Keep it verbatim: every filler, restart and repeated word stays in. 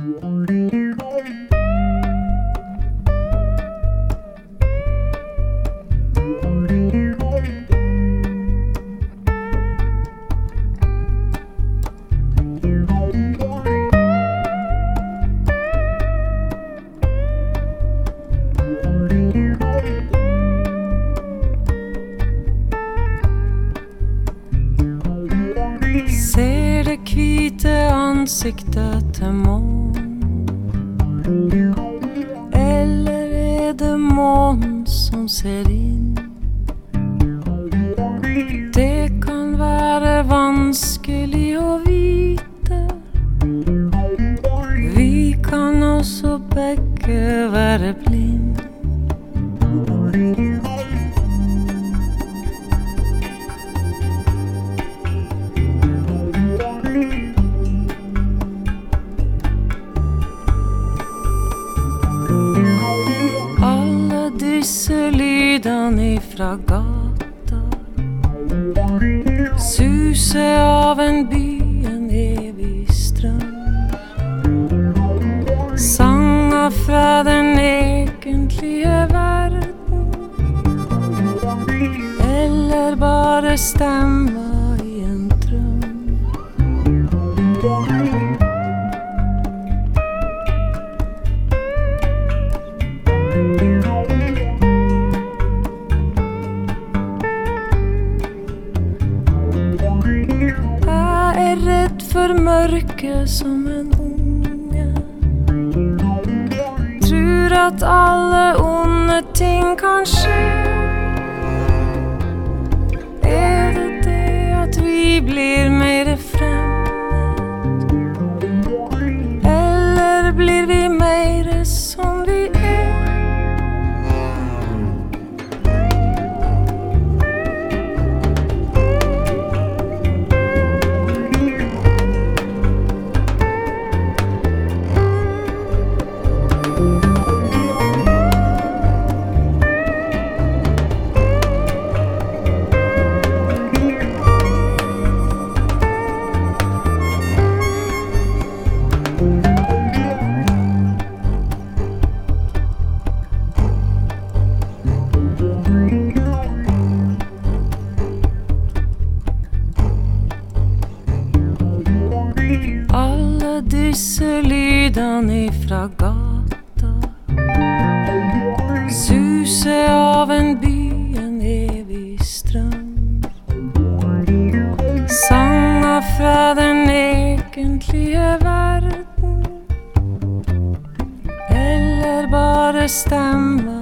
Ser det hvite ansiktet til månen, eller er det månen som ser inn? Det kan være vanskelig å vite. Vi kan også begge være blind. Disse lydene ifra gata, suse av en by, en evig strøm. Sanger fra den egentlige verden, eller bare stemmer i en drøm. Redd for mørket som en unge, tror at alle onde ting kan skje. Er det det at vi blir mer fremmed, eller blir vi mer som vi er? Alle disse lydene ifra gata, suse av en by, en evig strøm. Sanger fra den egentlige verden, eller bare stemmer